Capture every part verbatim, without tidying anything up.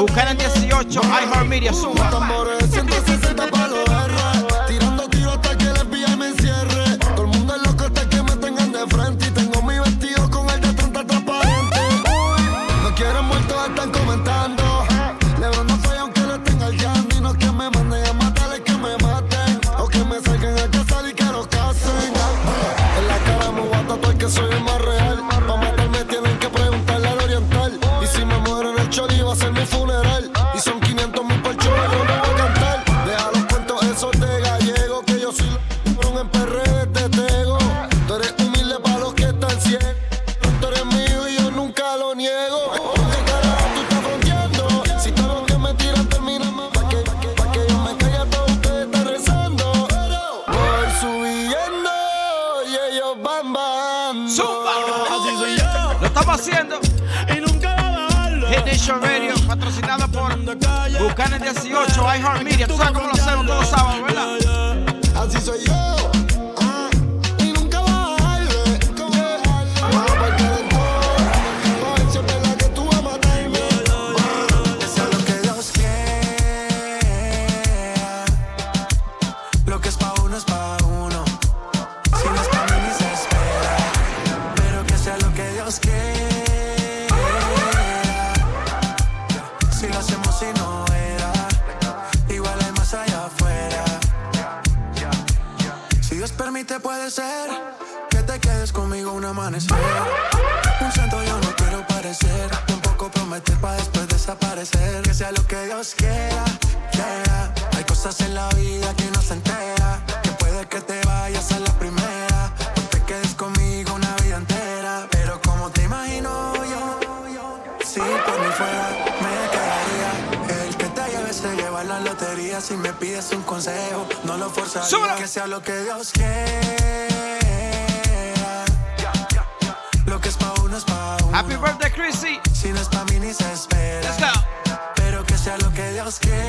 Buchanan dieciocho, iHeartMedia, suma. ciento sesenta pa' los R, tirando tiros hasta que el F B I me encierre. Todo el mundo es loco hasta que me tengan de frente. Y tengo mi vestido con el de treinta transparente. Me quieren muerto, están comentando. Lebron no falla aunque le tenga el yandy. No es que me manden a matar, es que me maten. O que me salgan a casar y que los casen. En la cara me voy a tatuar que soy el más real. Pa' matarme tienen que preguntarle al oriental. Y si me muero en el chori va a ser mi funeral. Y son quinientos mil por show, yo no voy a cantar. Deja los cuentos esos de gallego, que yo soy lo en P R de Tego. Tú eres humilde para los que están ciegos. Tú eres mío y yo nunca lo niego. ¿Con qué carajo tú estás fronteando? Si todo lo que me tiran termina mal. Pa' que, pa' que, pa' que yo me calle, todos ustedes están rezando. Voy subiendo y ellos van bajando. ¡Zumba! Así soy yo. Lo estamos haciendo. Y nunca va a bajarlo. Hit Nation Radio, patrocinado por Buchanan dieciocho, iHeartMedia. Tú sabes cómo lo hacemos todos los sábados, ¿verdad? Así soy yo. Ah, y nunca bajarle. Vamos pa'l calentón. Pa' ver si es verdad que tú vas a matarme. Que sea lo que Dios quiera. Lo que es pa' uno es pa' uno. Si no es pa' mí ni se espera. Pero que sea lo que Dios quiera. Si lo hacemos y no era. Igual hay más allá afuera. Si Dios permite puede ser que te quedes conmigo un amanecer. Un santo yo no quiero parecer, tampoco prometer para después desaparecer. Que sea lo que Dios quiera, quiera. Hay cosas en la vida que no se entera. Que puede que te vayas a la primera, o te quedes conmigo una vida entera. Pero como te imagino yo, si por mí fuera me quedaría. El que te lleve se lleva la lotería. Si me pides un consejo, no lo forzaría. ¡Súbelo! Que sea lo que Dios quiera. Lo que es pa' uno es pa' uno. Happy birthday, Chrissy. Si no es pa' mí ni se espera. Let's go. Pero que sea lo que Dios quiera.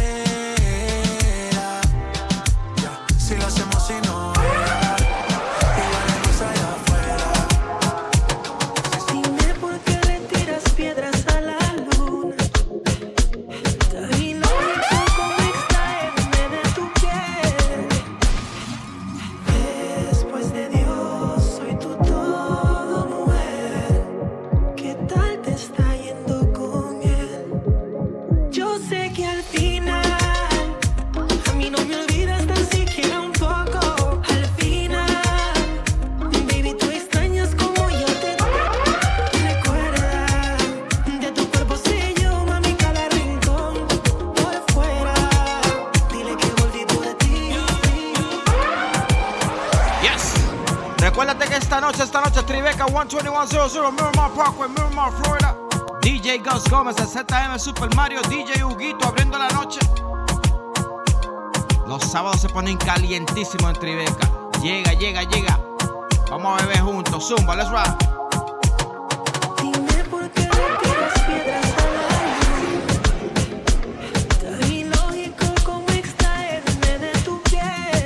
Si lo hacemos y no era. Igual hay más allá afuera. Dime por qué le tiras piedras a la luna. Tan ilógico como extraerme de tu piel. Después de Dios soy tu todo, mujer. ¿Qué tal te está yendo con él? Yo sé que al final a mí no me olvidas tan siquiera un poco. Al final, baby, tú extrañas como yo te recuerda. De tu cuerpo sé yo, mami, cada rincón por fuera. Dile que volví por ti. Yes. Recuérdate que esta noche, esta noche, Tribeca uno dos uno cero cero, Miramar Parkway, Miramar, Florida. D J Gus Gómez, el Z M Super Mario, D J Huguito abriendo la noche. Los sábados se ponen calientísimos en Tribeca. Llega, llega, llega. Vamos a beber juntos. Zumba, let's rock. Dime por qué le tiras piedras a la luna. Tan ilógico como extraerme de tu piel.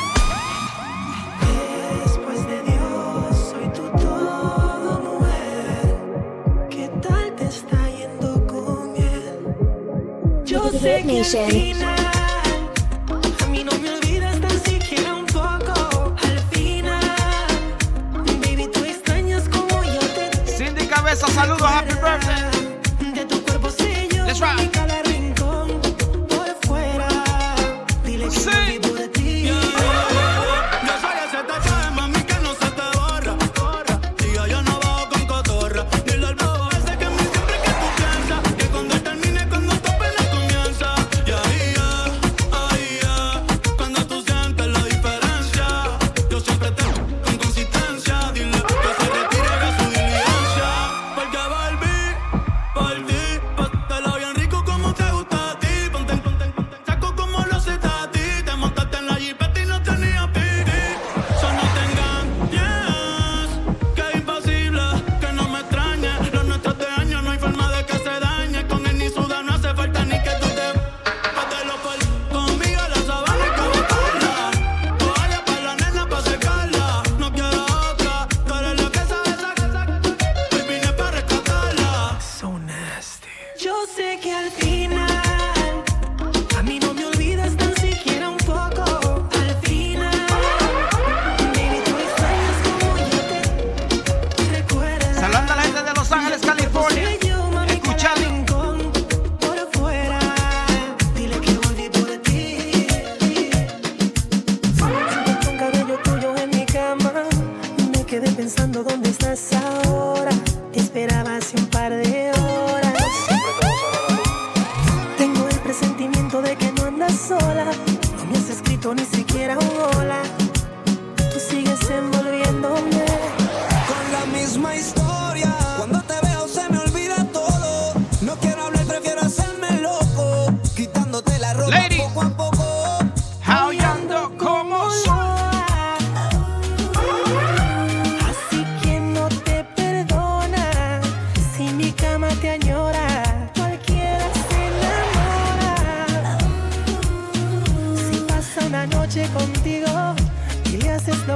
Después de Dios soy tu todo, mujer. ¿Qué tal te está yendo con él? Yo sé que al final a mí no me olvidas tan siquiera un poco. Al final, baby, tú extrañas como yo te Cindy Cabeza, saludos, happy birthday. de tu cuerpo sé yo, Let's rock. mami, cada rincón por fuera. Dile que Sí. volví por ti. Yo soy ese tatuaje, mami, que no se te borra. Y yo, yo no bajo con cotorra. Dile al bobo ese que a mí siempre que tú piensas que cuando él termine, cuando tu pena comienza. Y ahí ya, ahí ya, cuando tú sientes la diferencia. Yo siempre te con consistencia. Dile que se retire de su diligencia. Porque volví por ti. Pásatelo bien rico como te gusta a ti. Ponte, ponte, ponte. Saco como lo haces a ti. Te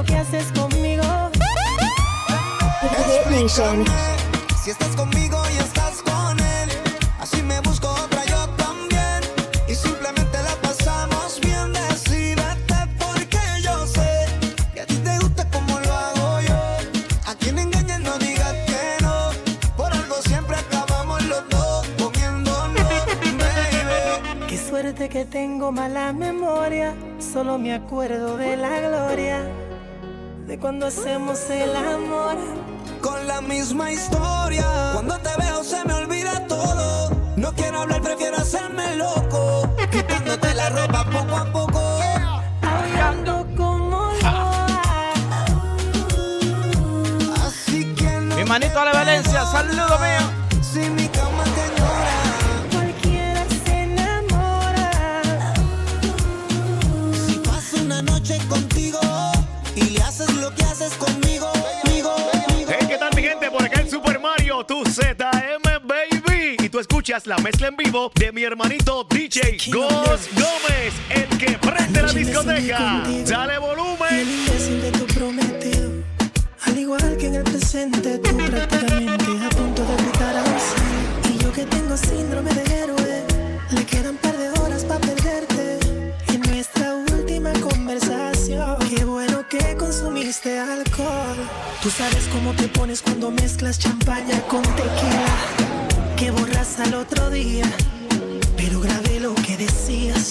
lo que haces conmigo. Hit Nation. Si estás conmigo y estás con él, así me busco otra yo también. Y simplemente la pasamos bien. Decídete porque yo sé que a ti te gusta como lo hago yo. A quien engañes no digas que no. Por algo siempre acabamos los dos comiéndonos, baby. Qué suerte que tengo mala memoria. Solo me acuerdo de la gloria de cuando hacemos el amor. Con la misma historia. Cuando te veo se me olvida todo. No quiero hablar, prefiero hacerme loco. Quitándote la ropa poco a poco. Aullando como loa. Así que no. Mi manito Ale Valencia, saludo mío. Si mi cama te llora. Cualquiera se enamora. Si paso una noche contigo y le haces lo que haces conmigo. Por acá en Super Mario, tu Z M, baby. Y tú escuchas la mezcla en vivo de mi hermanito D J Gos Gómez, el que prende la discoteca. Dale Y el volumen. imbécil de tu prometido, al igual que en el presente, tú prácticamente a punto de gritar a sí. Y yo que tengo síndrome de héroe, le quedan un par de horas para perderte. Y en nuestra última conversación, qué bueno que consumiste alcohol. Tú sabes cómo te pones cuando mezclas champaña con tequila, que borras al otro día, pero grabé lo que decías.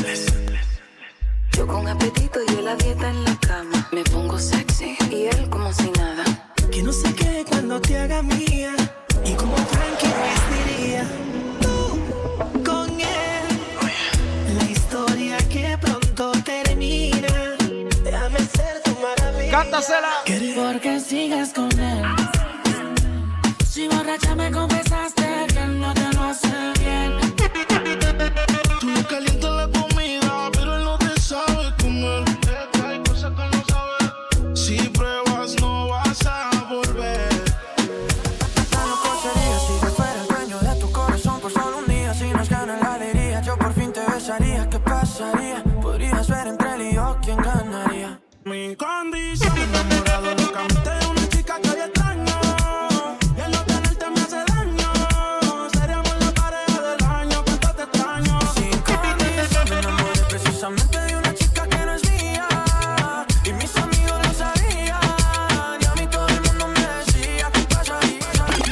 Yo con apetito y él a dieta en la cama. Me pongo sexy y él como si nada. Que no sé qué cuando te haga mía, y como Frankie Ruiz diría, tú con él, la historia que pronto termina. Déjame ser tu maravilla. Cántasela. Porque sigues con él. Si borracha me confesaste que él no te lo hace bien. Tú le calientas la comida, pero él no te sabe comer. Es que hay cosas que él no sabe. Si pruebas no vas a volver. La loco sería si yo fuera el dueño de tu corazón por solo un día. Si nos gana la alegría, yo por fin te besaría. ¿Qué pasaría? Podrías ver entre él y yo quién ganaría. Mi condición, enamorado locamente de una chica que hoy extraño. Y el no tenerte me hace daño. Seríamos la pareja del año, cuánto te extraño. Sin condición, me enamoré precisamente de una chica que no es mía. Y mis amigos lo sabían. Y a mí todo el mundo me decía ¿qué pasaría?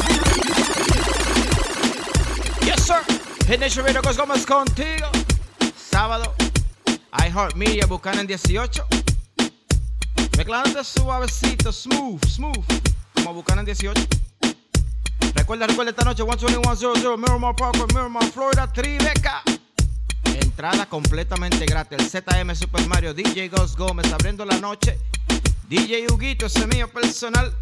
Yes, sir. Hit Nation Radio, Gos Gómez contigo. Sábado, iHeartMedia, Buchanan dieciocho. Mezclándote suavecito, smooth, smooth, como Buchanan dieciocho. Recuerda, recuerda esta noche, uno dos uno cero cero, Miramar Parkway, Miramar, Florida, Tribeca. Entrada completamente gratis. El Z M Super Mario, D J Gos Gómez, abriendo la noche. D J Huguito, ese mío personal.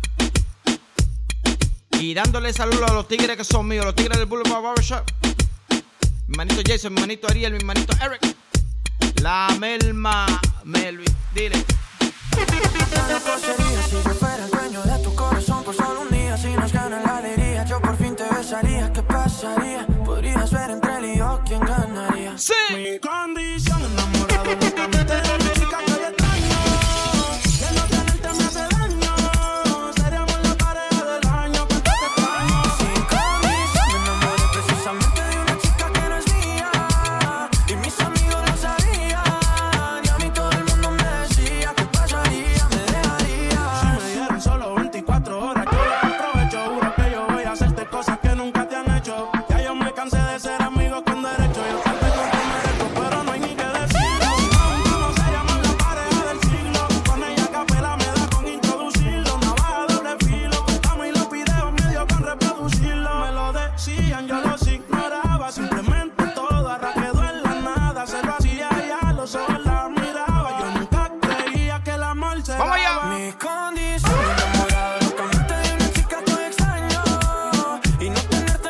Y dándole saludos a los tigres que son míos, los tigres del Boulevard Barbershop. Mi manito Jason, mi manito Ariel, mi manito Eric. La Melma Melvin, dile. La loco sería si yo fuera el dueño de tu corazón por solo un día. Si nos gana la alegría, yo por fin te besaría. ¿Qué pasaría? Podrías ver entre él y yo quién ganaría. Sí. Mi condición, enamorado locamente de una chica que hoy extraño. Y el no tenerte me hace daño. Seríamos la pareja del año, cuánto te extraño. Sin condición, me enamoré precisamente de una chica que no es mía. Y mis amigos lo sabían. Y a mí todo el mundo me decía ¿qué pasaría? Me dejaría. Si me dieron solo veinticuatro horas, yo las aprovecho. Juro que yo voy a hacerte cosas que nunca te han hecho. Ya yo me cansé de ser amigos con derecho. Yo te tengo que merezco, pero no hay ni que decirlo. Aún no seríamos la pareja del siglo. Con ella capela me da con introducirlo. Navaja doble filo, cortamos y los videos medio con reproducirlo. Me lo decían, yo los ignoraba. Simplemente todo ahora quedó en la nada. Se lo hacía y a los ojos la miraba. Yo nunca creía que el amor se Vamos allá. daba. Mi condición, enamorado locamente de una chica que hoy extraño. Y no tenerte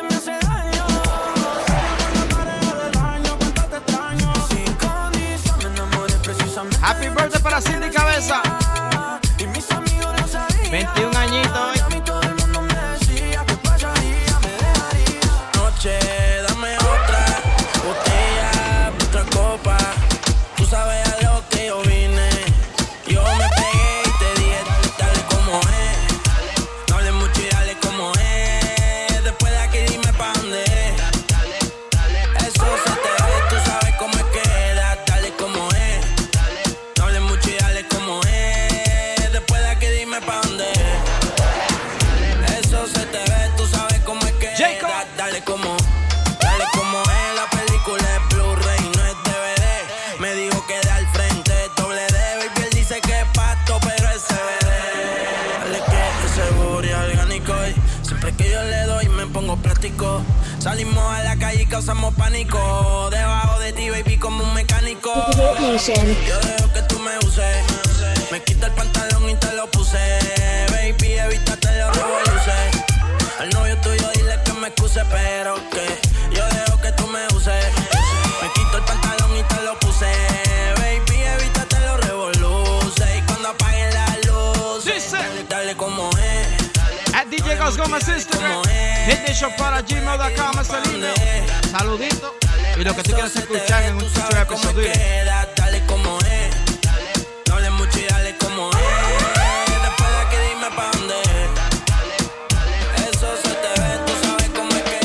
Salimos a la calle y causamos pánico. Debajo de ti, baby, como un mecánico. Yo dejo que tú me uses. Me quito el pantalón y te lo puse. Baby, evítate los revoluces. Al novio tuyo dile que me excuse, pero que yo dejo que tú me uses. Me quito el pantalón y te lo puse. Baby, evítate los revoluces. Y cuando apaguen la luz, dale, dale como es. At D J Gus Gómez Instagram. Hit the show para gmail punto com es el email. Saludito. Y lo que tú quieras escuchar en un future episodio. Dale como es. No hables mucho y dale como es. Después de aquí dime pa' dónde es. Eso se te ve, tú sabes cómo es que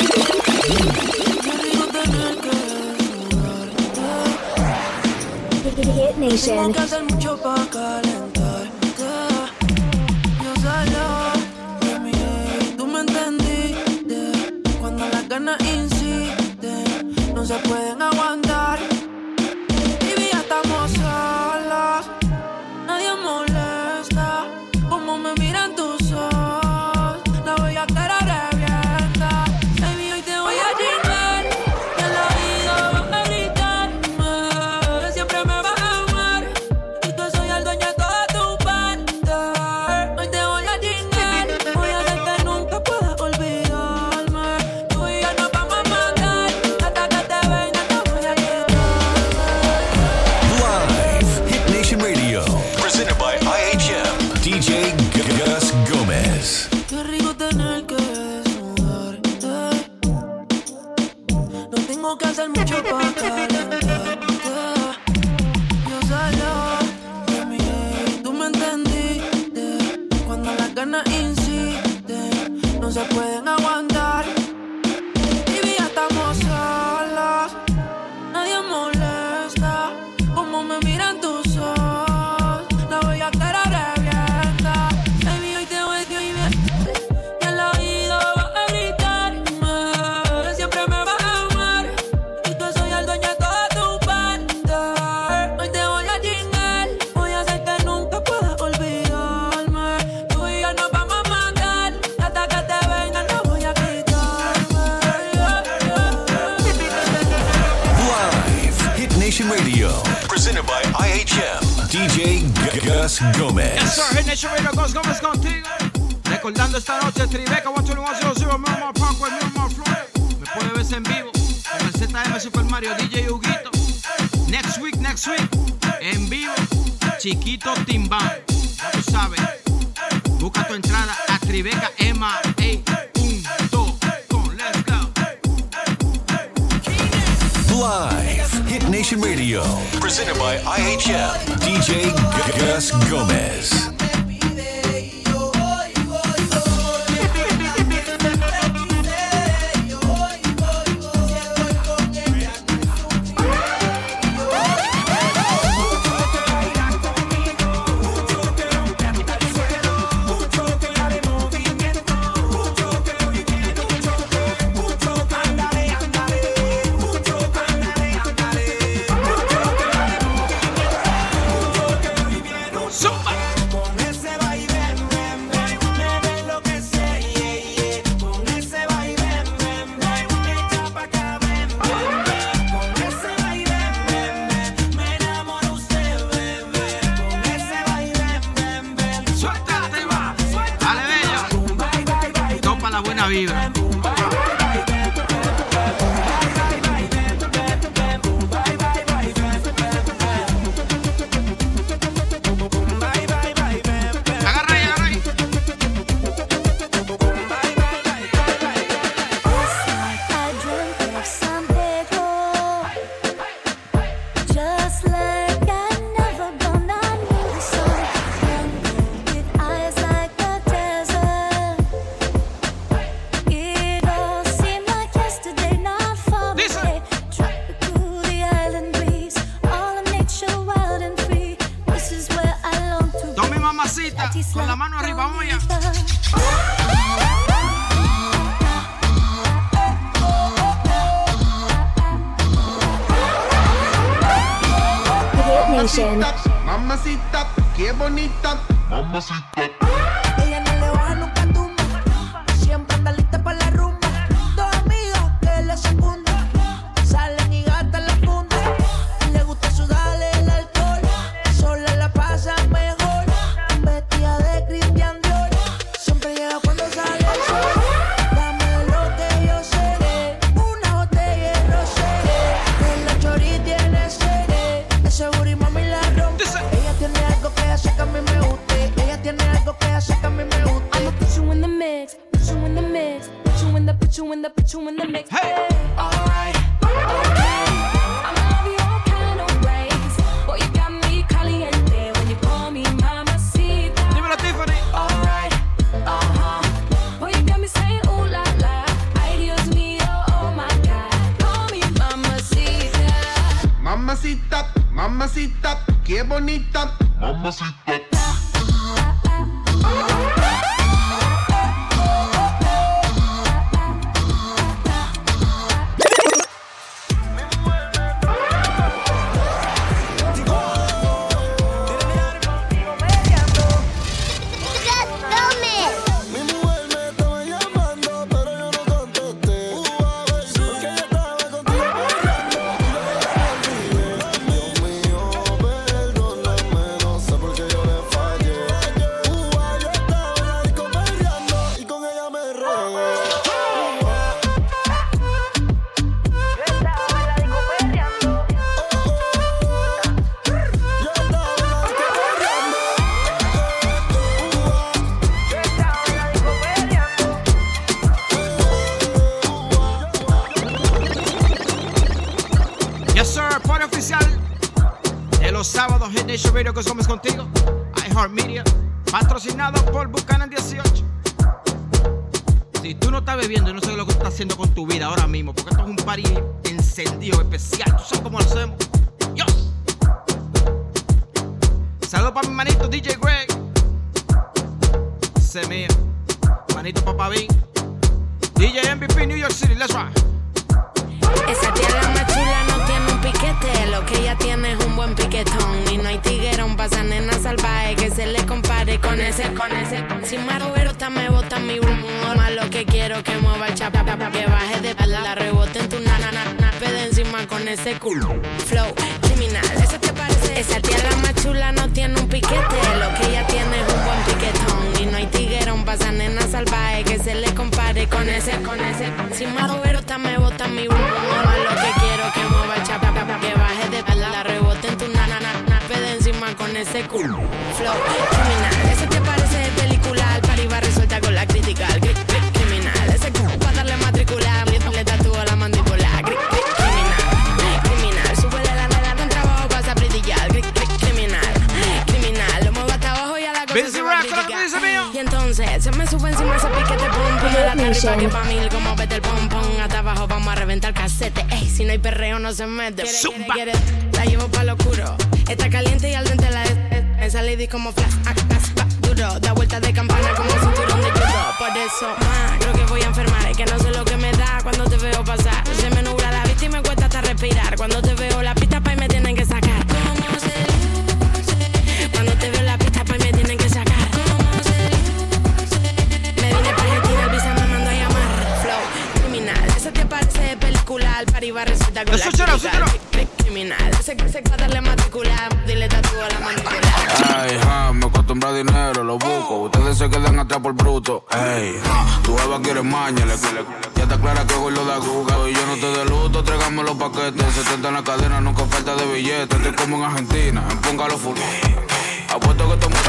es. Hit Nation. Tengo que hacer mucho pa' calentarte. Yo solo de mi ley, tú me entendiste. Cuando las ganas insisten, no se pueden aguantar. Baby, ya estamos solos, nadie molesta. Como me miran tus ojos, la voy a cara revienta. Baby, hoy te voy a chingar, y en la vida vas a gritarme que siempre me vas a amar, y que soy el dueño de toda tu parte. Hoy te voy a chingar, voy a hacer que nunca puedas olvidarme. Tú y yo nos vamos a matar, hasta que te venga te voy a quitar. Live, Hit Nation Radio, presented by I H M, D J Gus Gómez. Qué rico tener que desnudarte. No tengo que hacer mucho para calentarte. Yo solo de mi ley, tú me entendiste. Cuando las ganas insisten, no se pueden aguantar. Baby, ya estamos solos, nadie molesta. Como me miran tus ojos, la voy a cara revienta. Baby, hoy te voy a vivir, y en la vida vas a gritarme que siempre me vas a amar, y que soy el dueño de toda tu parte. Hoy te voy a chingar, voy a hacer que nunca puedas olvidarme. Tú y yo nos vamos a matar, hasta que te venga no voy a quitarme. Live, Hit Nation Radio, presented by I H M, D J Gus Gómez. Yes, sir. Hit Nation Radio, Gus Gómez contigo. Recordando esta noche, Tribeca, uno dos uno cero cero, Miramar Parkway, Miramar, Florida. Me puede ver en vivo con el Z M Super Mario, D J Huguito. Next week, next week, en vivo, Chiquito Timbán. Ya tú sabes. Busca tu entrada a Tribeca M A punto com. Let's go. Live, Hit Nation Radio, presented by I H M, D J Gus Gómez. Vibra. Agarra ahí, agarra ahí. Just like I never gonna knew the sun. With eyes like the desert. It all seemed like yesterday, not far away. Tropical, the island breeze, all of nature wild and free. This is where I long to be. Tome mamacita, con la mano arriba, vamos allá. Mamacita, mamacita, qué bonita. Mamacita. Ella no le baja nunca tumba, siempre anda lista para la rumba. Dos amigos put you in the, put you in the mix. Hey. Alright, okay. I'ma love you all kind of ways. Boy, you got me caliente when you call me mamacita. Dímelo, Tiffany. Alright, uh-huh. Boy, you got me saying ooh la la. Ay, Dios mío, oh my God. Call me mamacita. Mamacita, mamacita, qué bonita. Mamacita. Sábado, Hit Nation Radio, Gus Gómez contigo. iHeartMedia, patrocinado por Buchanan dieciocho. Si tú no estás bebiendo y no sabes lo que estás haciendo con tu vida ahora mismo, porque esto es un party encendido especial, ¿tú sabes cómo lo hacemos? ¡Dios! Saludos para mi manito D J Greg. Ese mío. Manito Papá B. D J M V P New York City, let's ride. Esa tía la más chula no tiene un piquete, lo que ella tiene es un buen piquetón. Y no hay tiguerón pa' esa nena salvaje que se le compare con ese, con ese. Si Maroberta me bota mi humor, más lo que quiero que mueva el chapa, que baje de pala, la rebote en tu nana, nana, pede encima con ese culo. Flow criminal, ¿eso te parece? Esa tía la más chula no tiene un piquete, lo que ella tiene es un buen piquetón. Y no hay tiguerón pa' esa nena salvaje que se le compare con ese, con ese. Si Maroberta me bota mi humor, más lo que quiero que mueva el chapa, que baje de pala, la rebote en tu nana, nana, pede encima con ese culo. Flow criminal, ¿eso te parece de película? El party va resuelta con la crítica. Cri, cri, criminal, ese culo pa' darle matricular, le tatúo la mandíbula. Cri, cri, criminal, criminal, súbele la nada con trabajo pa' esa brillar. Cri, cri, criminal, criminal, lo muevo hasta abajo y a la cosa se va a criticar. Y entonces se me sube encima ese piquete pum pum de la tarripa que pa' mí como vete el pom pom. Hasta abajo vamos a reventar casete. Ey, si no hay perreo no se mete. Quiere, quiere, quiere, la llevo pa' lo oscuro. Está caliente y al dente la de esa lady como flash, va duro. Da vuelta de campana como cinturón de judo. Por eso, ma, creo que voy a enfermar. Es que no sé lo que me da cuando te veo pasar. Se me nubla la vista y me cuesta hasta respirar. Cuando te veo la pista pa' y me tienen que sacar. ¿Cómo se luce? Cuando te veo la pista pa' y me tienen que sacar. ¿Cómo se luce? Me vine pa' Argentina, el visa me mandó a llamar. Flow criminal, ¿eso te parece de película? El party va resulta con la crítica. Criminal, ese que se va a darle matricular, dile tatúo a la mandíbula. Ay, ja, me acostumbra a dinero, lo busco. Ustedes se quedan atrás por bruto. Ey, tu eva quiere maña, le, le, ya está clara que hoy lo da guga. Y yo no te de luto, tráigame los paquetes. setenta en la cadena, nunca falta de billetes. Estoy como en Argentina, empóngalo full. Apuesto que tomo.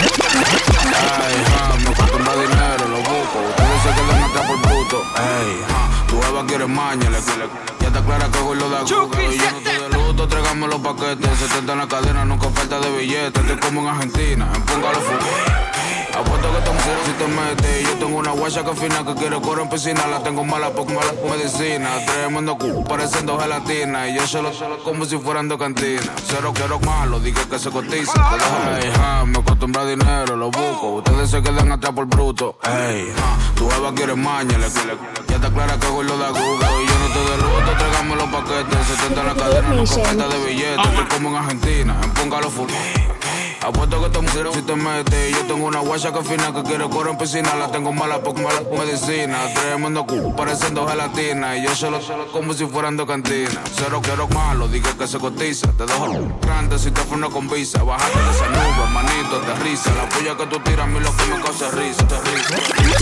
Ay, ja, me acostumbra a dinero, lo busco. Ustedes se quedan atrás por bruto. Ey, tu eva quiere maña, le, le, ya está clara que hoy lo da guga. Y yo no te de luto, tráigame los paquetes. setenta en la cadena, nunca falta de billetes. Estoy como en Argentina, empóngalo full. Apuesto que estamos cero si te metes. Yo tengo una guacha que fina que quiere correr en piscina. La tengo mala porque mala por medicina. Tremendo culo, pareciendo gelatina. Y yo solo, solo como si fueran de cantina. Cero quiero malo, dije que se cotiza. Ey, ja, me acostumbra a dinero, lo busco. Ustedes se quedan atrás por bruto. Ey, tu eva quiere maña, le, le, ya está clara que hoy lo da guga. Y yo no te de luto, tráigame los paquetes. setenta en la cadena, nunca falta de billetes. Estoy como en Argentina, empóngalo full. Apuesto que estamos cero si te metes. Yo tengo una guacha que fina que quiere correr en piscina. La tengo mala porque mala por medicina. Tremendo culo, pareciendo gelatina. Y yo solo, solo como si fueran de cantina. Cero quiero malo, dije que se cotiza. Te dejo grande si te funo con visa. Bájate de esa nube, manito, de risa. La puya que tú tiras a mí lo que me causa risa. Te risa.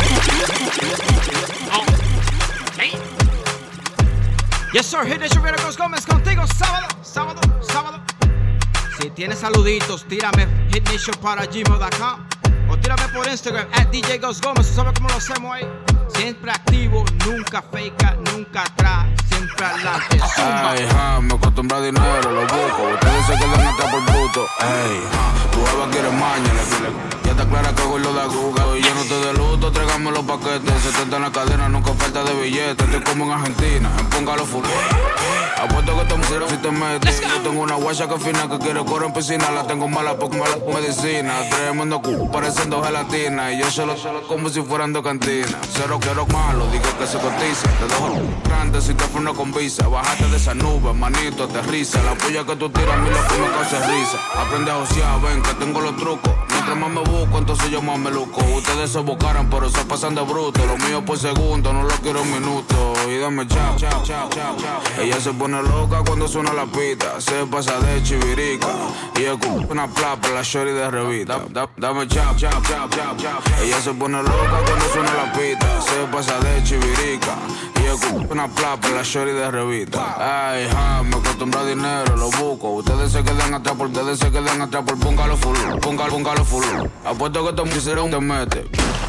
Yes, sir. Hit Nation Radio, Gus Gómez contigo. Sábado, sábado, sábado. Si tienes saluditos, tírame hitnation para gmail punto com o tírame por Instagram at D J Gus Gómez. ¿Tú sabes cómo lo hacemos ahí? Siempre activo, nunca fake, nunca atrás, siempre adelante. Zumba. Ay, ja, me acostumbra a dinero, lo busco. Ustedes se quedan atrás por bruto. Ey, ja, tu jeva quiere maña, le ya está clara que hago lo de aguga. Y yo no te de luto, tráigame los paquetes. setenta en la cadena, nunca falta de billetes. Estoy como en Argentina, en Póngalo Full. Apuesto que te musieron si te metes. Yo tengo una guacha que fina que quiere correr en piscina. La tengo mala porque mala medicina. Tremendo cu, parecen dos gelatinas. Y yo solo, solo como si fueran dos cantinas. Cero quiero malo, digo que se cotiza. Te dejo grande si te freno con visa. Bájate de esa nube, manito, aterriza. La puya que tú tiras a mí lo que me causa risa. Aprende a josear, ven que tengo los trucos. Mientras más me busco, entonces yo más me luco. Ustedes se buscaran, pero se pasan de bruto. Lo mío por segundo, no lo quiero en minuto. Y dame chao, chao, chao, chao, chao. Ella se pone loca cuando suena la pita. Se pasa de chivirica. Y escupa una plapa, la shorty de revista. Da, da, dame chao, chao, chao, chao, chao. Ella se pone loca cuando suena la pita. Se pasa de chivirica. Y escupa una plapa, la shorty de revista. Ay, ja, me acostumbra a dinero, lo busco. Ustedes se quedan atrás por, ustedes se quedan atrás por Póngalo Full. Póngalo, póngalo full. Apuesto que te pusieron te mete.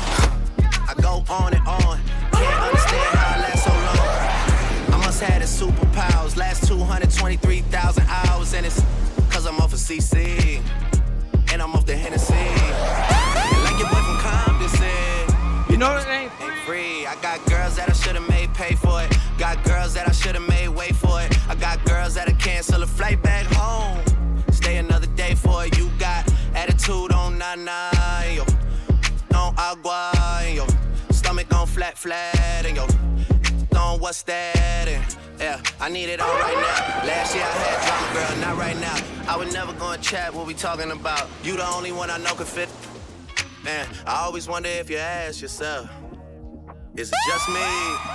I go on and on. Can't understand how I last so long. I must have the superpowers. Last two hundred twenty-three thousand hours. And it's cause I'm off of C C. And I'm off the Hennessy. And like your boy from Compton said, you know it ain't free. I got girls that I should've made pay for it. Got girls that I should've made wait for it. I got girls that'll cancel a flight back home. Stay another day for it. You got attitude on nine, yo. On agua, and yo. Stomach on flat, flat, and yo. On what's that? And yeah, I need it all right now. Last year I had drama, girl, not right now. I would never go and chat what we talking about. You the only one I know can fit. Man, I always wonder if you ask yourself, is it just me?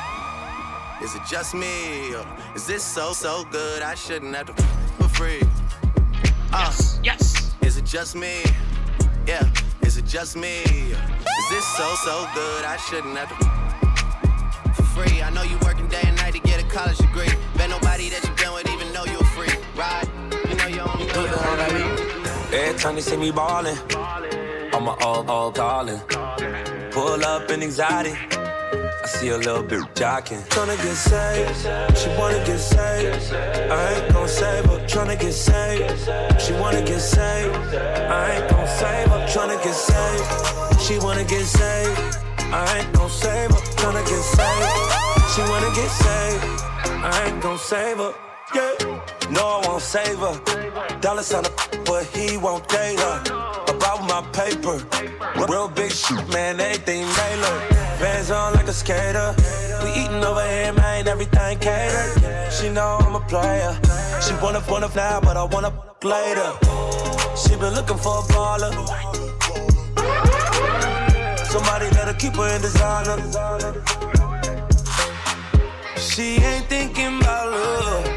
Is it just me? Or is this so, so good I shouldn't have to for free? Uh, yes, yes. Is it just me? Yeah, is it just me? Is this so, so good I shouldn't have to for free? I know you working day and night to get a college degree. Bet nobody that you been with even know you're free, right? You know you only know you're free. Every time they see me ballin', I'm a all, all callin'. Pull up in anxiety, I see a little bit jockin'. Tryna get saved, she wanna get saved. I ain't gon' save her, tryna get saved. She wanna get saved, I ain't gon' save her. Tryna get saved, she wanna get saved. I ain't gon' save her, tryna get saved. She wanna get saved, I ain't gon' save her. Yeah, no, I won't save her. Dollar sign a but he won't date her. About my paper, real big shit, man, everything Naylor. Bands on like a skater. We eatin' over here, man, everything catered. She know I'm a player. She wanna wanna now, but I wanna later. She been looking for a baller. Somebody that'll keep her in designer. She ain't thinking about love.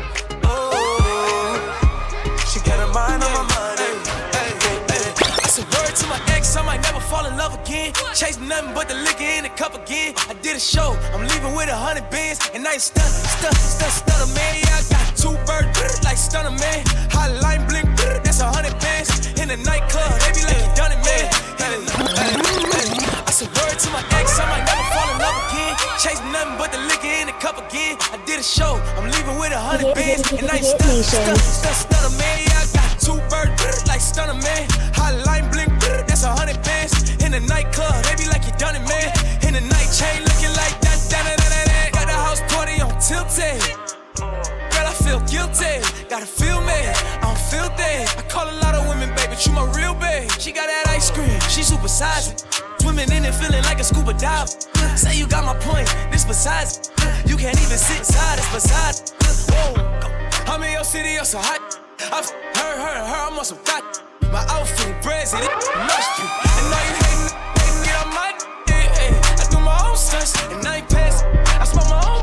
Mind on my money. Hey, hey, hey. I said word to my ex, I might never fall in love again. Chasing nothing but the liquor in the cup again. I did a show, I'm leaving with a hundred bands. And I ain't stun, stun, stun, stunner, man. Yeah, I got two birds, like stunner, man. Hotline blink, that's a hundred bands. In the nightclub, they be like, you done it, man. Hey, hey, hey. I said word to my ex, I might never fall in love again. Chasing nothing but the liquor in the cup again. I did a show, I'm leaving with a hundred bands. And I ain't stun, stun, stun, stunner, man. Yeah, I got two birds, like stunner, man. Hotline blink, that's a hundred bands. In the nightclub, they be like, you done it, man. In the night chain looking like that, that, that, that, that. Got the house party on tilted. Girl, I feel guilty. Gotta feel me, I don't feel that. I call a lot of women, baby, but you my real babe. She got that ice cream, she super sizing. Swimming in it, feeling like a scuba diver. Say you got my point, this besides it. You can't even sit side, it's beside it. Whoa, I'm in your city, you're so hot. I've heard, heard, heard, I'm on some thought. My outfit, president, must be. And now you hating, hating me on my day. I do my own stunts, and I ain't passing. I smoke my own.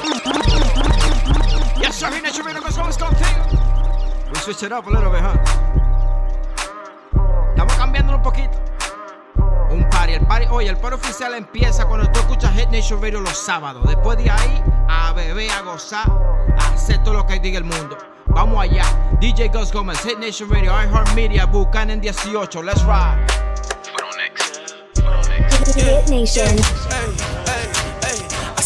Yes, sir, Hit Nation Radio, cause always contigo. We switch it up a little bit, huh? Estamos cambiando un poquito. Un party, el party, oye, el party oficial empieza cuando tú escuchas Hit Nation Radio los sábados. Después de ahí, a beber, a gozar, a hacer todo lo que diga el mundo. Vamos allá, D J Gus Gomez, Hit Nation Radio, iHeartMedia, Buchanan dieciocho, let's ride. Hit Nation. Hey, hey, hey.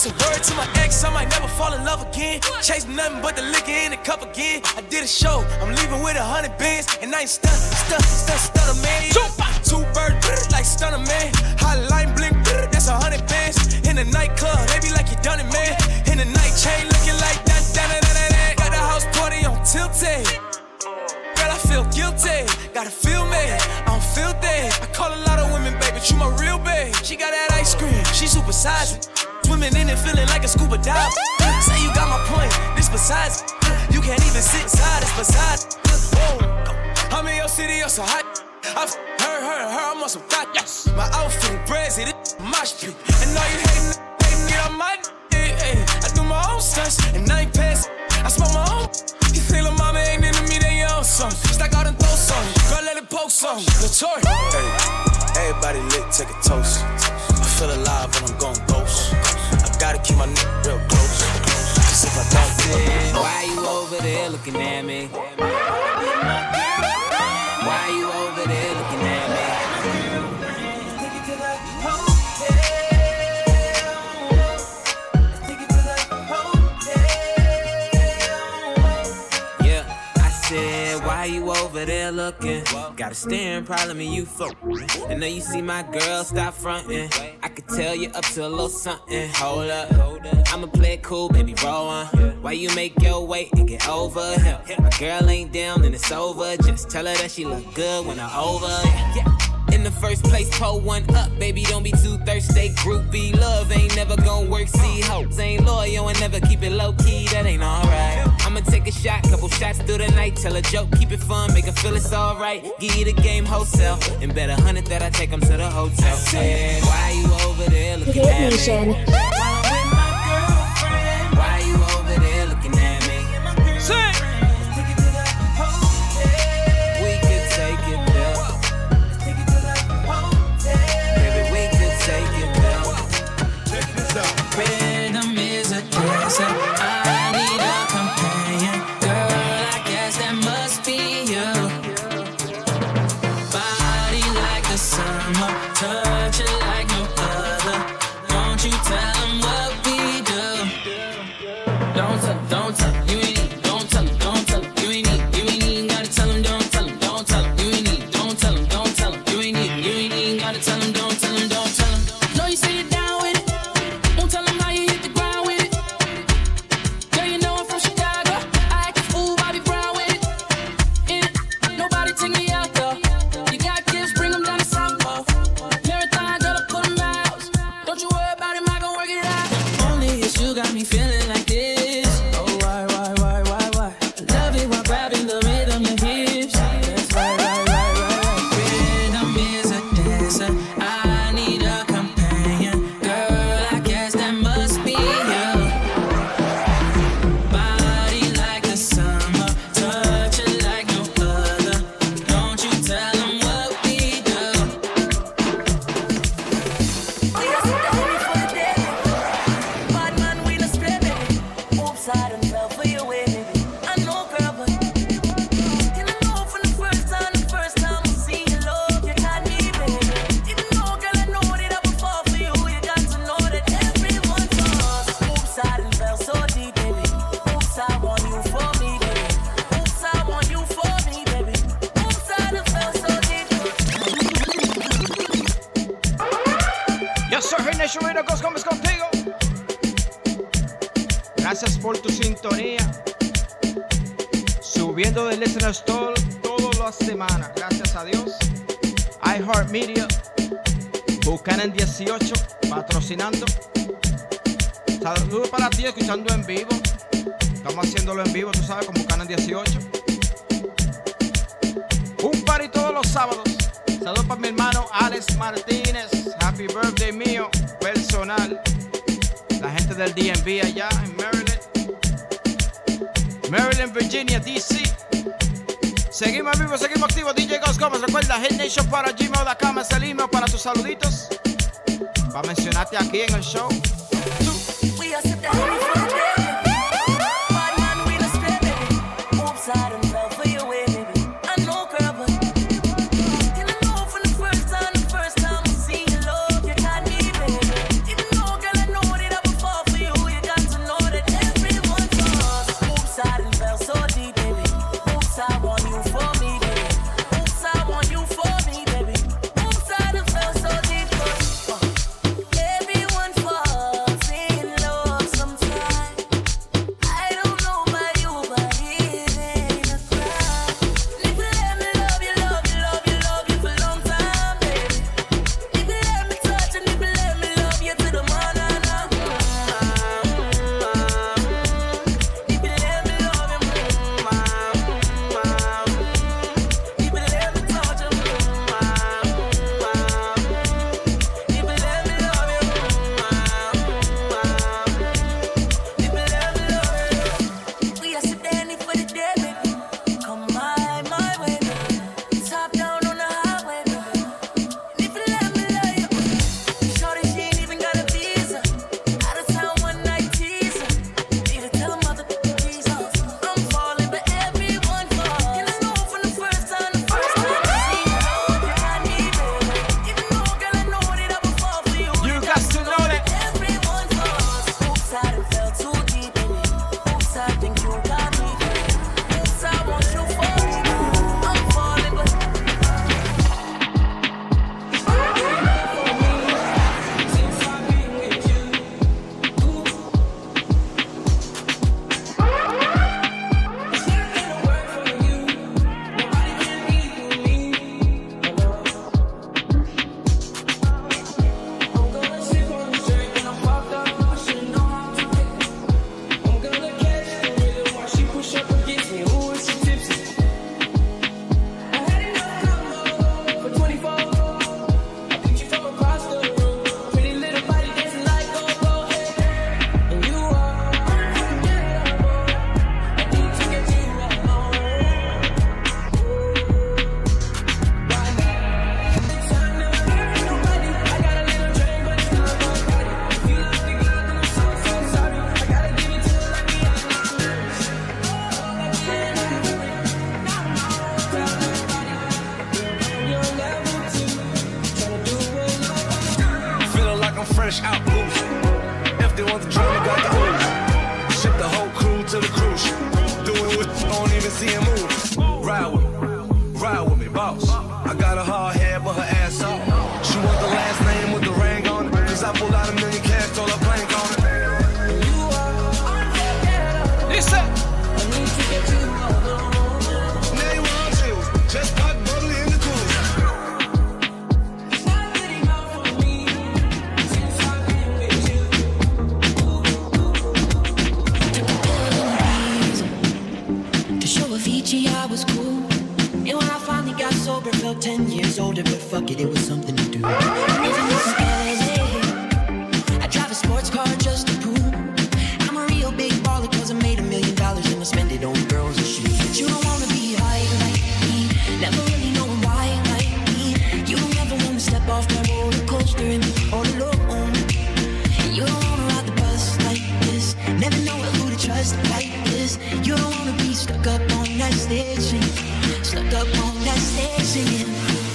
said, word to my ex, I might never fall in love again. Chasing nothing but the liquor in the cup again. I did a show, I'm leaving with a hundred bands. And I ain't stun, stun, stun, stunner man. Two birds, like stunner man. Hotline blink, that's a hundred bands. In the nightclub, they be like you done it, man. In the night chain, looking like that, that, that, that, that. Got the house party on tilted. Girl, I feel guilty, gotta feel me, I'm filthy. I call a lot of women, baby, but you my real babe. She got that ice cream, she super sizing. Swimming in it, feeling like a scuba dive. Say you got my point, this besides. You can't even sit inside, it's besides. Whoa, I'm in your city, you're so hot. I've heard, heard, heard, I'm on some thought. Yes. My outfit, brazy, this mosh pit. And all you hating, hating, get on my day. I do my own stunts, and I ain't pass. I smoke my own. You feel like mama ain't into me, they your own son. Stack out and throw some. Girl, let it poke some. The toy. Hey, everybody lit, take a toast. I feel alive when I'm going ghost. I gotta keep my neck real close. Cause if I don't, then why you over there looking at me? Why you over there looking at me? Why you over there looking? Got a staring problem and you fuck. I know you see my girl, stop fronting. I could tell you up to a little something. Hold up, I'ma play it cool, baby, roll on. Why you make your way and get over here? My girl ain't down and it's over. Just tell her that she look good when I'm over. Yeah. In the first place, pull one up, baby, don't be too thirsty. Groupie love ain't never gon' work. See, hoes ain't loyal and never keep it low key. That ain't alright. I'ma take a shot, couple shots through the night. Tell a joke, keep it fun, make her feel it's alright. Give you the game wholesale, and bet a hundred that I take them to the hotel. Said, why you over there looking Hit at Nation. me? Why you over there looking at me? Say. Rhythm is a dancer. I need a companion. Girl, I guess that must be you. Body like the summer, touch it like no other. Won't you tell them what we do? Don't tell, don't tell, you ain't need. Don't tell them, don't tell them, you ain't need. You ain't even gotta tell them, don't tell them, don't tell them, you ain't need. Don't tell them, don't tell them, you ain't need. You ain't even gotta tell them, don't tell them, don't tell them. Know you say it down. Gracias por tu sintonía. Subiendo del Listener Store todas las semanas. Gracias a Dios. iHeartMedia. Buchanan dieciocho. Patrocinando. Saludos para ti escuchando en vivo. Estamos haciéndolo en vivo, tú sabes, con Buchanan dieciocho. Un party todos los sábados. Saludos para mi hermano Alex Martínez. Happy birthday mío, personal. La gente del D M V allá en Maryland. Maryland, Virginia, D C. Seguimos en vivo, seguimos activos. D J Gus Gómez. Recuerda, Hit Nation para gmail punto com es el email para tus saluditos. Para mencionarte aquí en el show. We are set the honey for the day. Bad man, we the spray, baby. Oops, I done fell for your way, baby. I know, girl, but can I know from the first time, the first time I see you, love, you got me, baby. Even though, girl, I know that I would fall for you. fuck it, it was something to do. I drive a sports car just to prove I'm a real big baller, cause I made a million dollars and I spend it on girls and shoes. But you don't wanna be high like me, never really knowing why like me. You don't ever wanna step off that roller coaster and be all alone. You don't wanna ride the bus like this, never know who to trust like this. You don't wanna be stuck up on that stage singing, stuck up on that stage singing.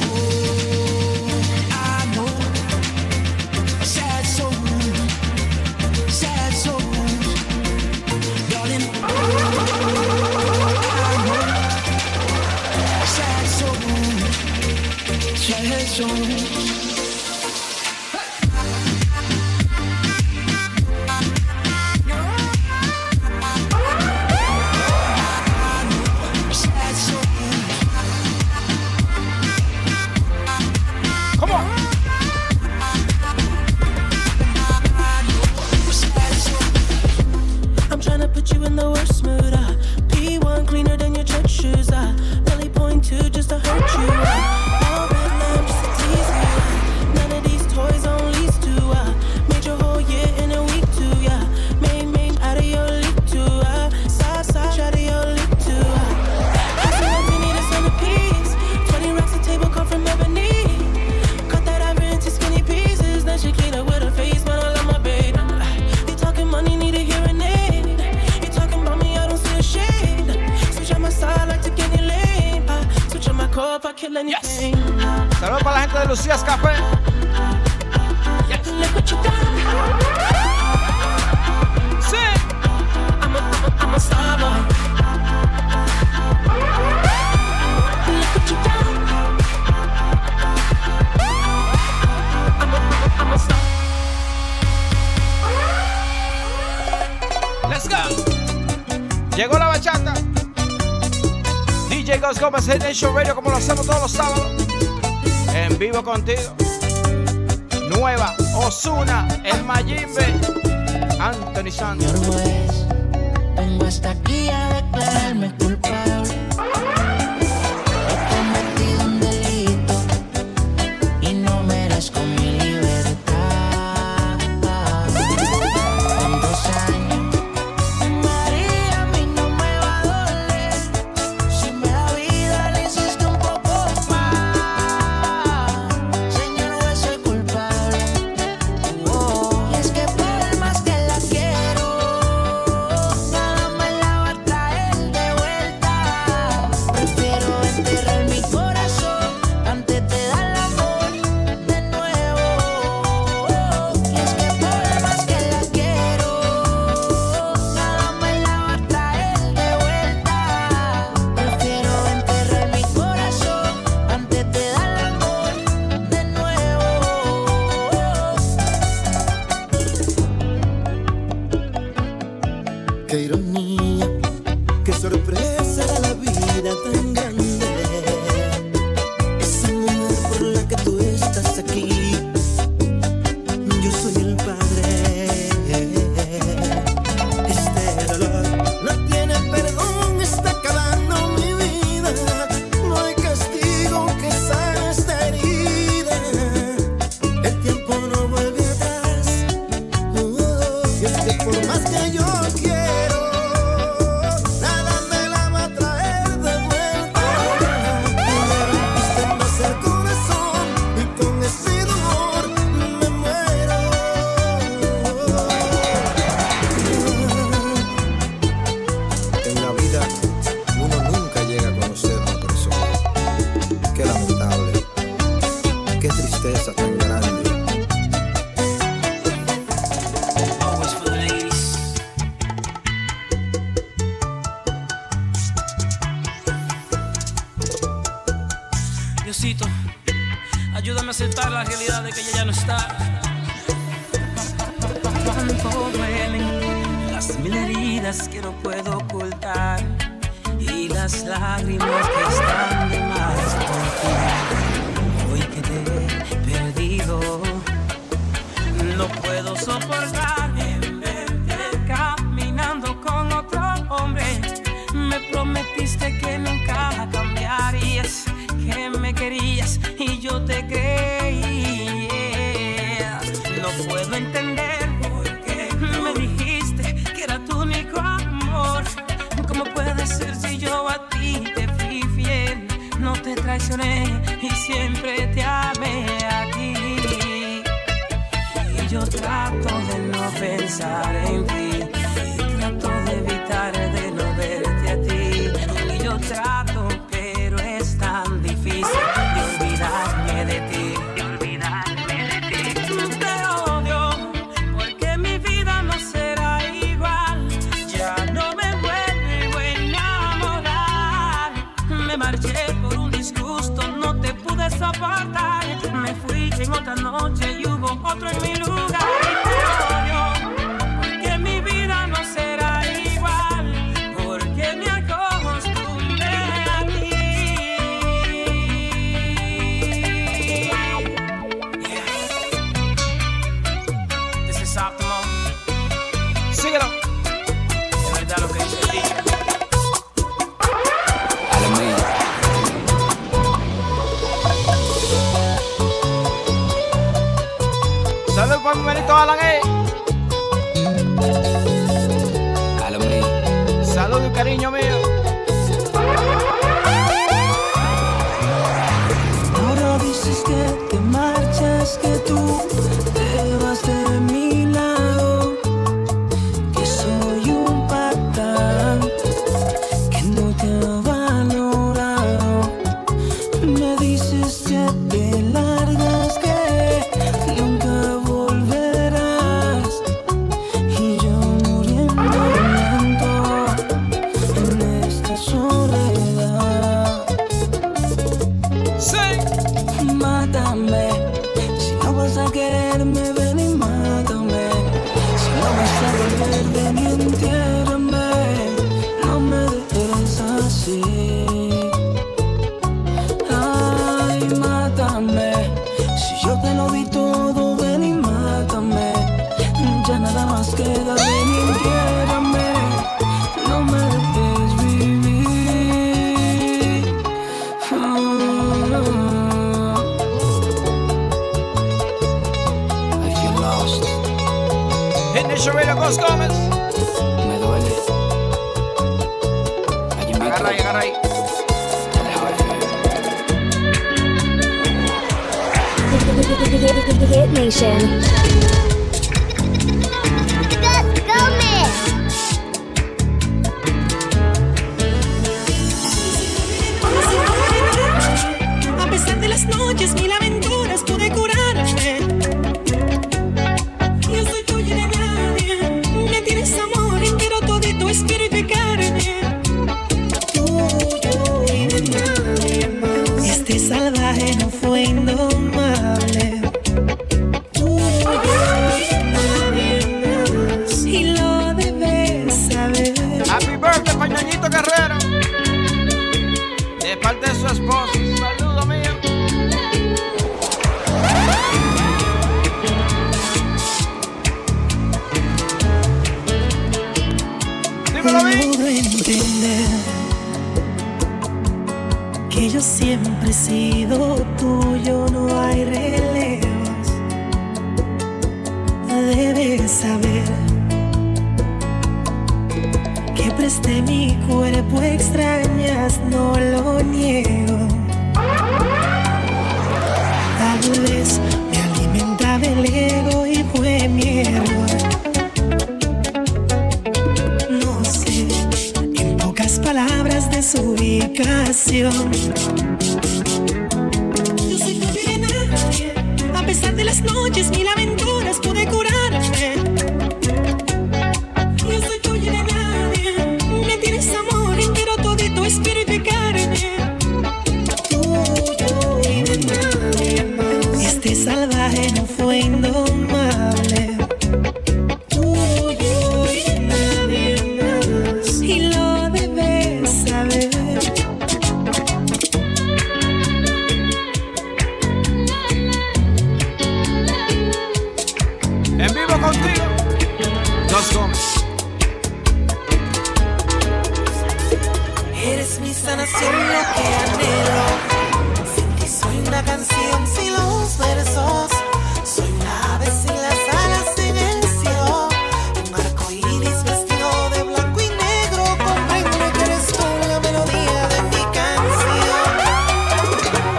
Yes. Saludos para la gente de Lucías Café. Yes. Sí. I'm a, I'm a star boy. Look what you done. I'm a, I'm a star. Let's go. Llegó la bachata. D J Gus Gómez, Hit Nation Radio, como lo hacemos todos los sábados. En vivo contigo. Nueva, Ozuna, el Mayimbe, Anthony Santos. Señor juez, vengo hasta aquí a declararme culpable. He cometido un delito y no merezco mi libertad. En dos años, María, a mí no me va a doler. Si me da vida, le hiciste un poco más. Señor juez, soy culpable. Oh, y es que por más que la quiero, nada me la va a traer de vuelta. Prefiero enterrar mi corazón antes de dar el amor de nuevo. Y es que por más que la quiero, nada me la va a traer de vuelta. Prefiero enterrar mi corazón antes de dar el amor de nuevo. Qué ironía, qué sorpresa da la vida tan grande. Esa mujer por la que tú estás aquí, yo soy el padre. Este dolor no tiene perdón, está acabando mi vida. No hay castigo que sane esta herida. El tiempo no vuelve atrás. Oh, y es que por más que yo quiero, nada me la va a traer de vuelta. Tú me rompiste más el corazón y con ese dolor me muero. En la vida uno nunca llega a conocer a una persona. Qué lamentable, qué tristeza tan grande. Always for the ladies. Diosito, ayúdame a aceptar la realidad de que ella ya no está. Cuánto duelen las mil heridas que no puedo ocultar y las lágrimas que están de más por ti. Hoy que te he perdido, no puedo soportar verte caminando con otro hombre. Me prometiste que nunca cambiarías, que me querías y yo te creí. traicioné y siempre te amé a ti. Y yo trato de no pensar en ti, y trato de evitar de no verte a ti. Y yo trato, pero es tan difícil de olvidarme de ti. De olvidarme de ti. Te odio porque mi vida no será igual. Ya no me vuelvo a enamorar. Me marché por un disgusto, no te pude soportar. Me fui en otra noche y hubo otro en mi lugar. Y te odio porque mi vida no será igual, porque me acostumbré a ti. Yeah. This is Optimo. Síguelo. Es verdad lo que dice el dicho. Salud para mi manito Alan, eh. Salud y cariño mío. Ahora dices que te marchas, que tú te vas de mi lado, que soy un patán, que no te ha valorado. Me dices que te largas, que nunca volverás, y yo muriendo lento en esta soledad. Sí. Mátame, si no vas a quererme, ven y mátame. Si no vas a volver, ven y entiérrame. No me dejes así. Ay, mátame, si yo te lo di todo, ven y mátame. Ya nada más queda, ven y entiérrame. No me dejes vivir. I feel lost. Hit Nation Radio, Gus Gómez. Me duele. Agarra ahí, agarra ahí. Hit Nation. Gus Gómez. A pesar de las noches, mil aventuras pude curarme. Yo soy tuya de nadie. Me tienes amor entero, todito espíritu y carne. Tuyo y de nadie más. Este salvaje no fue indomable. Tuyo y de nadie más. Y lo debes saber. Happy birthday, Pañañito Guerrero. De parte de su esposa. Saludo mío. Dímelo, Vi. Puedo entender que yo siempre he sido tuyo, no hay relevos. Debes saber que presté mi cuerpo, extrañas, no lo niego. Tal vez me alimentaba el ego y fue mi error. No sé, en pocas palabras, de su ubicación. Yo soy tuyo y de nadie. A pesar de las noches, mil aventuras pude curarme. Yo soy tuyo y de nadie. Me tienes amor entero, todito espíritu y carne. Tuyo y de nadie más. Este salvaje no fue indomable. Tuyo y de nadie más. Y lo debes saber. En vivo contigo, Gus Gómez. Eres mi sanación, lo que anhelo. Sin ti soy una canción sin los versos. Soy una ave sin las alas en el cielo. Un arco iris vestido de blanco y negro. Comprende que eres tú la melodía de mi canción.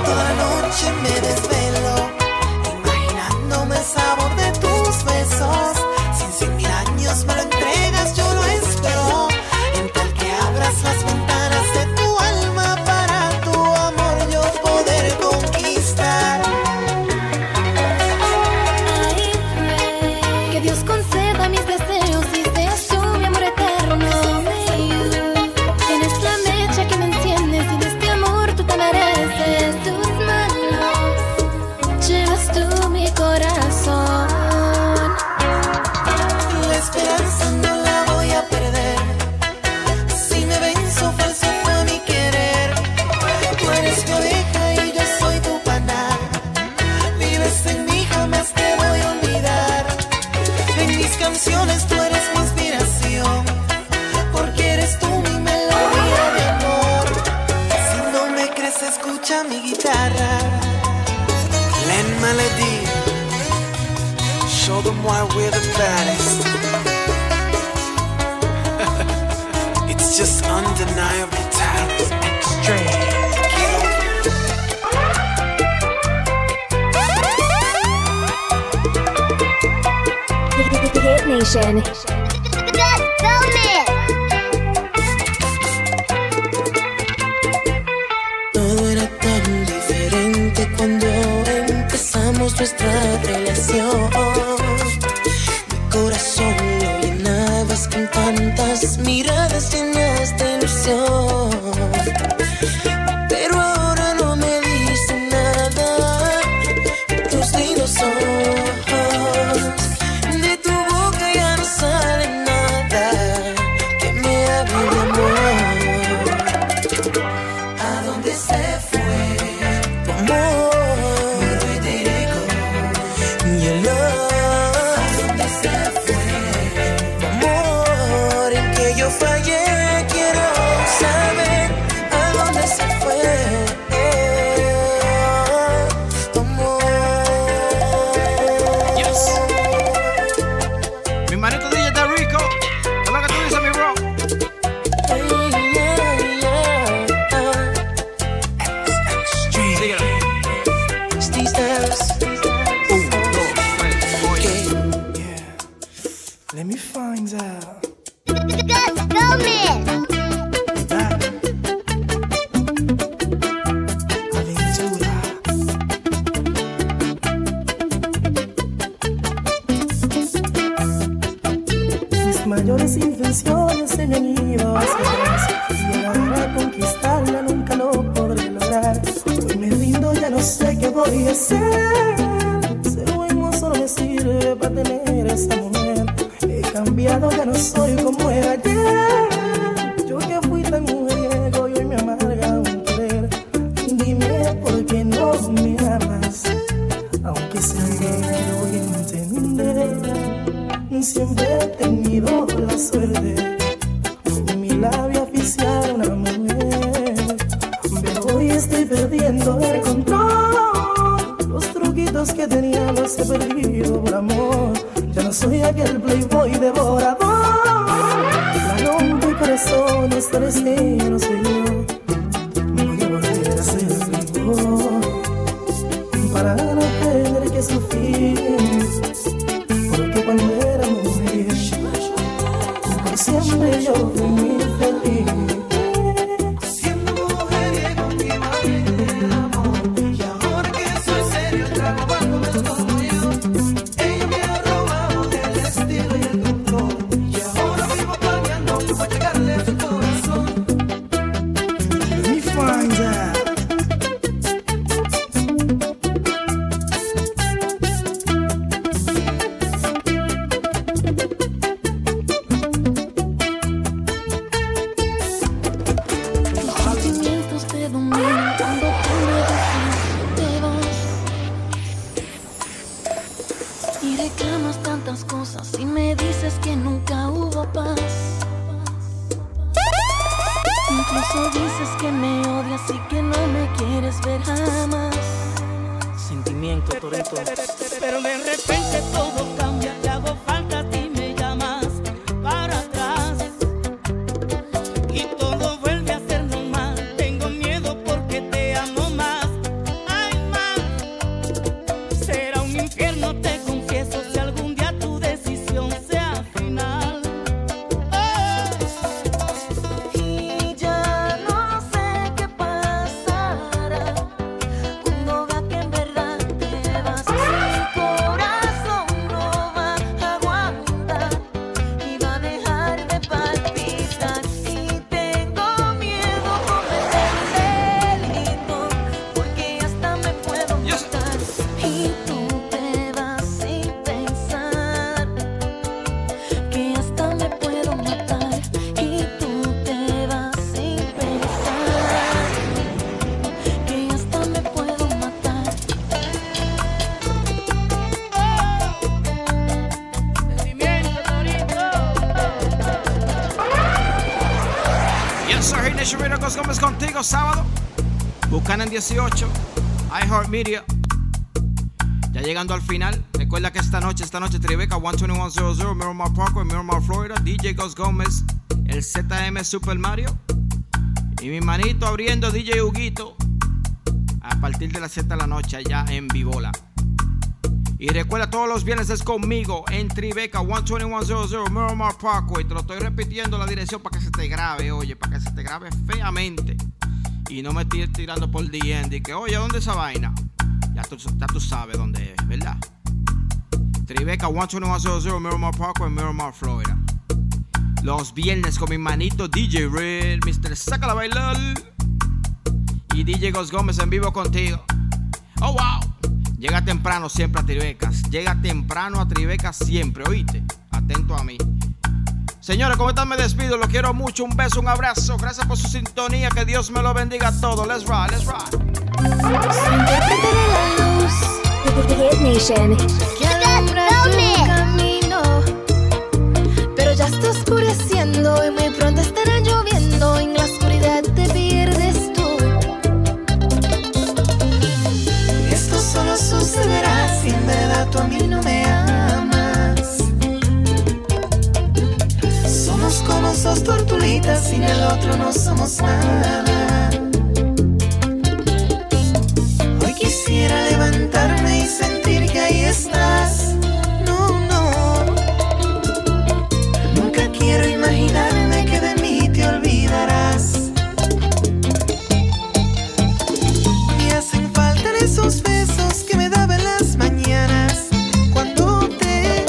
why we're the baddest. It's just undeniable talent. Extreme. Hit Nation. Todo era tan diferente cuando empezamos nuestra relación. Mi corazón lo llenabas con tantas miradas llenas de ilusión. Pero ahora no me dices nada. Tus lindos ojos, de tu boca ya no sale nada que me hable de amor. ¿A dónde se fue tu amor? Mi Federico y el love. ¿A dónde se fue tu amor? En que yo fallé, quiero saber a dónde se fue tu amor. Yes. Mi manito D J está rico. Es lo que tú dices, mi bro. Síguelo. Let me find out. Mis mayores intenciones se me han ido hacia atrás. Llegar a conquistarla nunca lo podré lograr. Hoy me rindo, ya no sé qué voy a hacer. Ser buen solo me sirve para tener esa mujer. He cambiado, ya no soy como era ayer. Yo que fui tan mujeriego y hoy me amarga un querer. Dime por qué no me amas, aunque sé que voy a entender. Siempre he tenido la suerte con mi labio oficial a una mujer, pero hoy estoy perdiendo el control. Los truquitos que tenía los he perdido por amor. Ya no soy aquel playboy devorador. La rompe corazones, tal vez ella no soy yo. Voy a volver a ser playboy para no tener que sufrir, porque cuando era mujer siempre yo fui muy feliz. Siendo mujeriego mi madre del amor, y ahora que soy serio trago cuando me como yo. Ella me ha robado el estilo y el control, y ahora vivo planeando para llegarle a su corazón. Let me find out. Incluso dices que me odias y que no me quieres ver jamás. Sentimiento, Torito. Pero de repente todo cambia, te hago falta a ti, me llamas para atrás y todo vuelve a ser normal. Tengo miedo porque te amo más. Ay, más. Será un infierno, te confieso, si algún día tu decisión sea final. Y ya no sé qué pasará cuando vea que en verdad te vas. Mi corazón no va a aguantar y va a dejar de palpitar. Y tengo miedo cometer el delito, porque hasta me puedo matar. Y tú te vas sin pensar que hasta me puedo matar. Y tú te vas sin pensar que hasta me puedo matar. Yes, sir. Hit Nation Radio, Cos Gómez contigo, sábado. Buchanan dieciocho, iHeartMedia. Ya llegando al final, recuerda que esta noche, esta noche Tribeca, uno dos uno cero cero, Miramar Parkway, Miramar, Florida, D J Gus Gómez, el Z M Super Mario y mi manito abriendo D J Huguito a partir de las siete de la noche allá en Vibola. Y recuerda, todos los viernes es conmigo en Tribeca, uno dos uno cero cero, Miramar Parkway. Te lo estoy repitiendo la dirección para que se te grabe, oye, para que se te grabe feamente. Y no me estés tirando por D M y que, oye, ¿dónde es esa vaina? Ya tú, ya tú sabes dónde es, ¿verdad? Tribeca, uno dos uno cero cero, Miramar Parkway, Miramar, Florida. Los viernes con mi manito D J Red, mister Sácala a Bailar y D J Gus Gómez en vivo contigo. Oh, wow. Llega temprano siempre a Tribecas. Llega temprano a Tribecas siempre, ¿oíste? Atento a mí. Señores, ¿cómo están? Me despido. Los quiero mucho. Un beso, un abrazo. Gracias por su sintonía. Que Dios me lo bendiga a todos. Let's rock, let's rock. Soy intérprete de la luz, The Hit Nation, que alumbra tu camino, pero ya está oscureciendo y muy pronto estará lloviendo. En la oscuridad te pierdes tú. Esto solo sucederá si en verdad tú a mí no me amas. Somos como dos tortulitas, sin el otro no somos nada. Hoy quisiera levantarme y sentir que ahí estás. No, no. Nunca quiero imaginarme que de mí te olvidarás. Me hacen falta esos besos que me daban las mañanas, cuando te,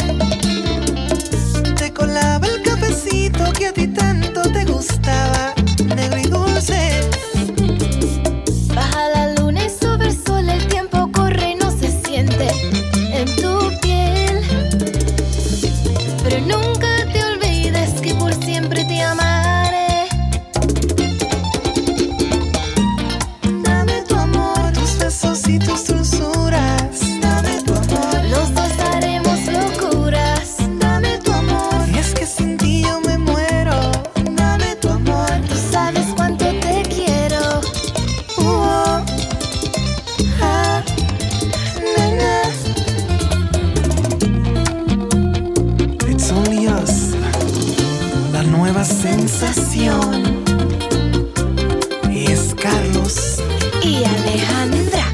te colaba el cafecito que a ti tanto te gustaba, negro y dulce. Baja la luna y sube el sol, el tiempo corre y no se siente en tu piel. Pero nunca te olvides que por siempre te amaré. Dame tu amor, tus besos y tus dulzuras. Dame tu amor, los dos haremos locuras. Dame tu amor, y es que sin ti yo me muero. Dame tu amor, tú sabes cuánto te quiero. Uh-oh. Ah, na, na. It's only us, la nueva sensación. Y es Carlos Y Alejandra.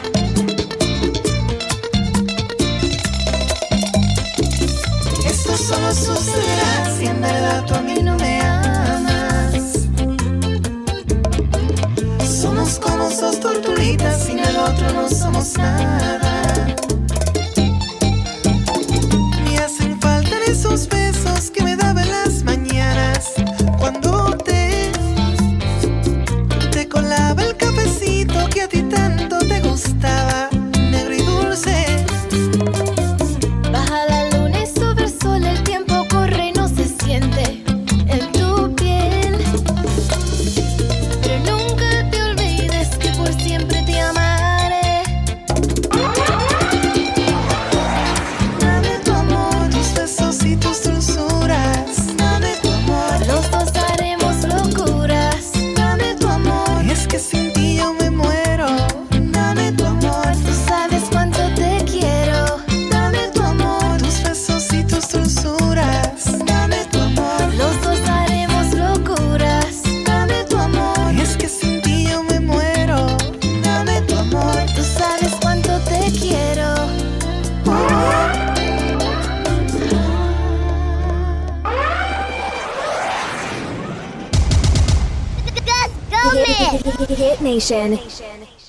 Esto solo sucederá si en verdad tú a mí no me amas. Somos como dos tortulitas, sin el otro no somos nada. Me hacen falta esos besos que me daban las mañanas, cuando te, te colaba el cafecito que a ti tanto te gustaba, negro y dulce. Baja la luna y sube el sol, el tiempo corre y no se siente en tu piel. Pero nunca te olvides que por siempre te amaré. Dame tu amor, tus besos y tus dulzuras. Dame tu amor, los dos haremos locuras. Dame tu amor, y es que sin ti yo me muero. Dame tu amor, tú sabes cuánto te quiero. Dame tu amor, tus besos y tus dulzuras. Dame tu amor, los dos haremos locuras. Dame tu amor, y es que sin ti yo me muero. Dame tu amor, tú sabes cuánto te quiero. The Hit, The Hit Nation.